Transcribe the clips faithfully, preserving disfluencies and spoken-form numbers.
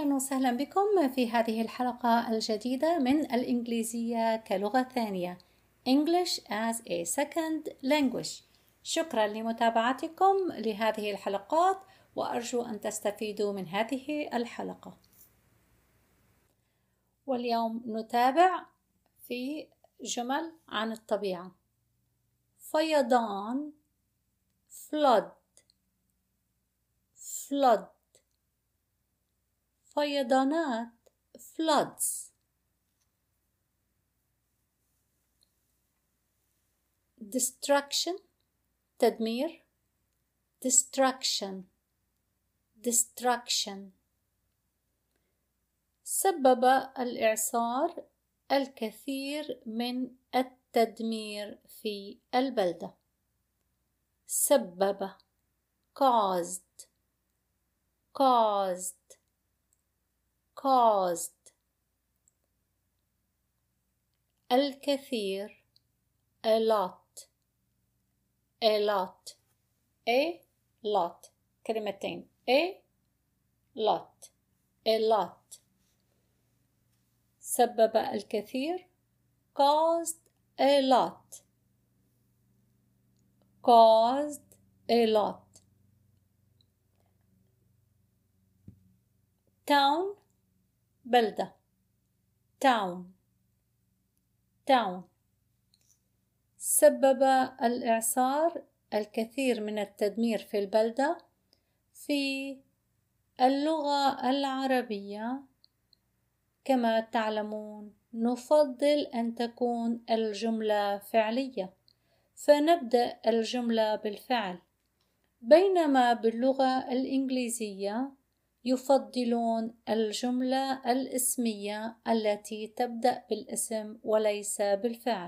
أهلا وسهلا بكم في هذه الحلقة الجديدة من الإنجليزية كلغة ثانية English as a second language. شكرا لمتابعتكم لهذه الحلقات وأرجو أن تستفيدوا من هذه الحلقة. واليوم نتابع في جمل عن الطبيعة. فيضان flood flood فيضانات floods. destruction تدمير destruction destruction سبب الإعصار الكثير من التدمير في البلدة. سبب caused caused caused الكثير a lot a lot a lot كلمتين a lot a lot سبب الكثير caused a lot caused a lot town بلدة town town سبب الإعصار الكثير من التدمير في البلدة. في اللغة العربية كما تعلمون نفضل أن تكون الجملة فعلية فنبدأ الجملة بالفعل، بينما باللغة الإنجليزية يفضلون الجملة الاسمية التي تبدأ بالاسم وليس بالفعل.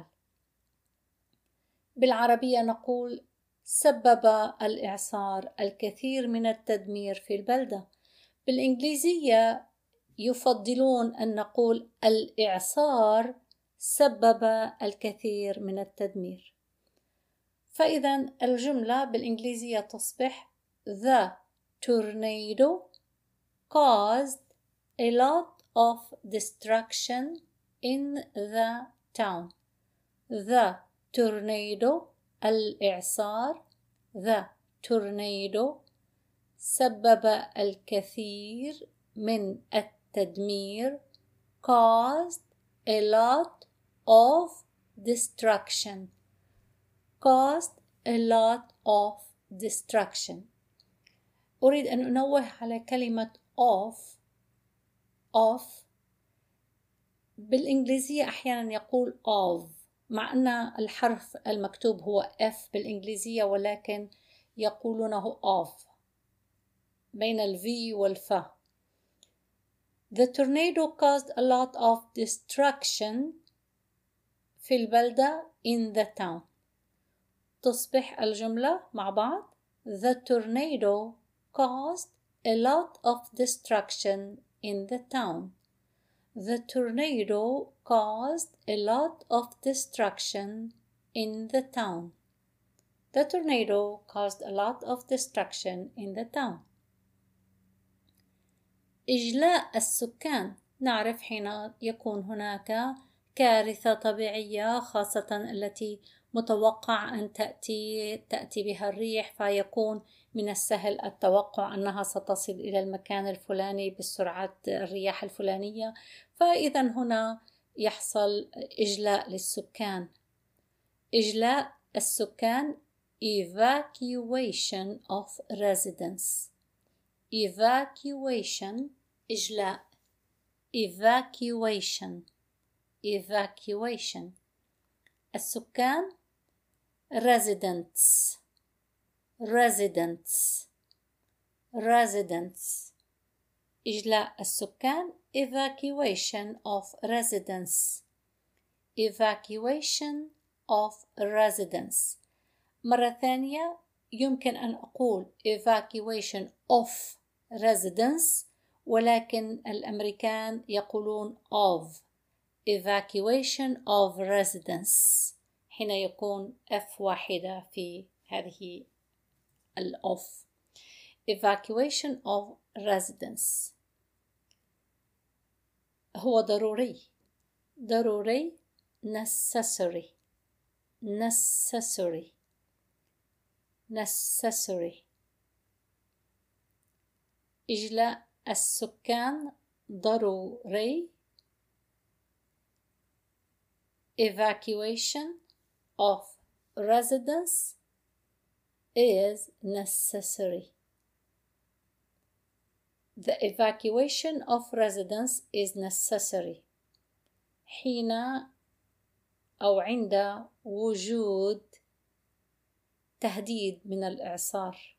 بالعربية نقول سبب الإعصار الكثير من التدمير في البلدة. بالإنجليزية يفضلون أن نقول الإعصار سبب الكثير من التدمير. فإذا الجملة بالإنجليزية تصبح The tornado caused a lot of destruction in the town. The tornado الإعصار The tornado سبب الكثير من التدمير caused a lot of destruction caused a lot of destruction. أريد أن أنوه على كلمة of of بالإنجليزية أحيانا يقول of مع أن الحرف المكتوب هو F بالإنجليزية ولكن يقولونه of بين ال V والف. The tornado caused a lot of destruction في البلدة in the town. تصبح الجملة مع بعض The tornado caused a lot of destruction in the town. The tornado caused a lot of destruction in the town. The tornado caused a lot of destruction in the town. إجلاء السكان نعرف حين يكون هناك كارثة طبيعية خاصة التي متوقع أن تأتي تأتي بها الريح، فيكون من السهل التوقع أنها ستصل إلى المكان الفلاني بسرعة الرياح الفلانية، فإذا هنا يحصل إجلاء للسكان. إجلاء السكان evacuation of residents. evacuation إجلاء evacuation evacuation السكان residents residents residents إجلاء السكان evacuation of residents evacuation of residents. مرة ثانية يمكن أن أقول evacuation of residents ولكن الأمريكان يقولون of evacuation of residents حين يكون F واحدة في هذه ال of evacuation of residents. هو ضروري ضروري necessary necessary necessary. إجلاء السكان ضروري. Evacuation of residents is necessary. The evacuation of residents is necessary حين أو عند وجود تهديد من الإعصار.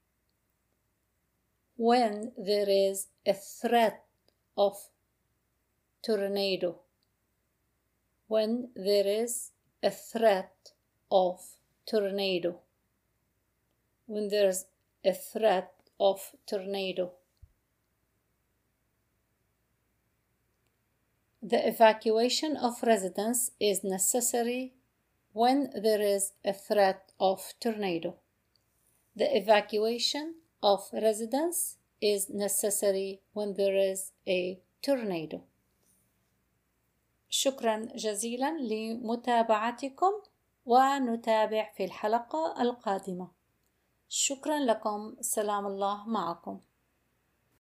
When there is a threat of tornado. When there is a threat of tornado. When there's a threat of tornado. The evacuation of residents is necessary when there is a threat of tornado. The evacuation of residents is necessary when there is a tornado. شكرا جزيلا لمتابعتكم، ونتابع في الحلقة القادمة. شكرا لكم. سلام الله معكم.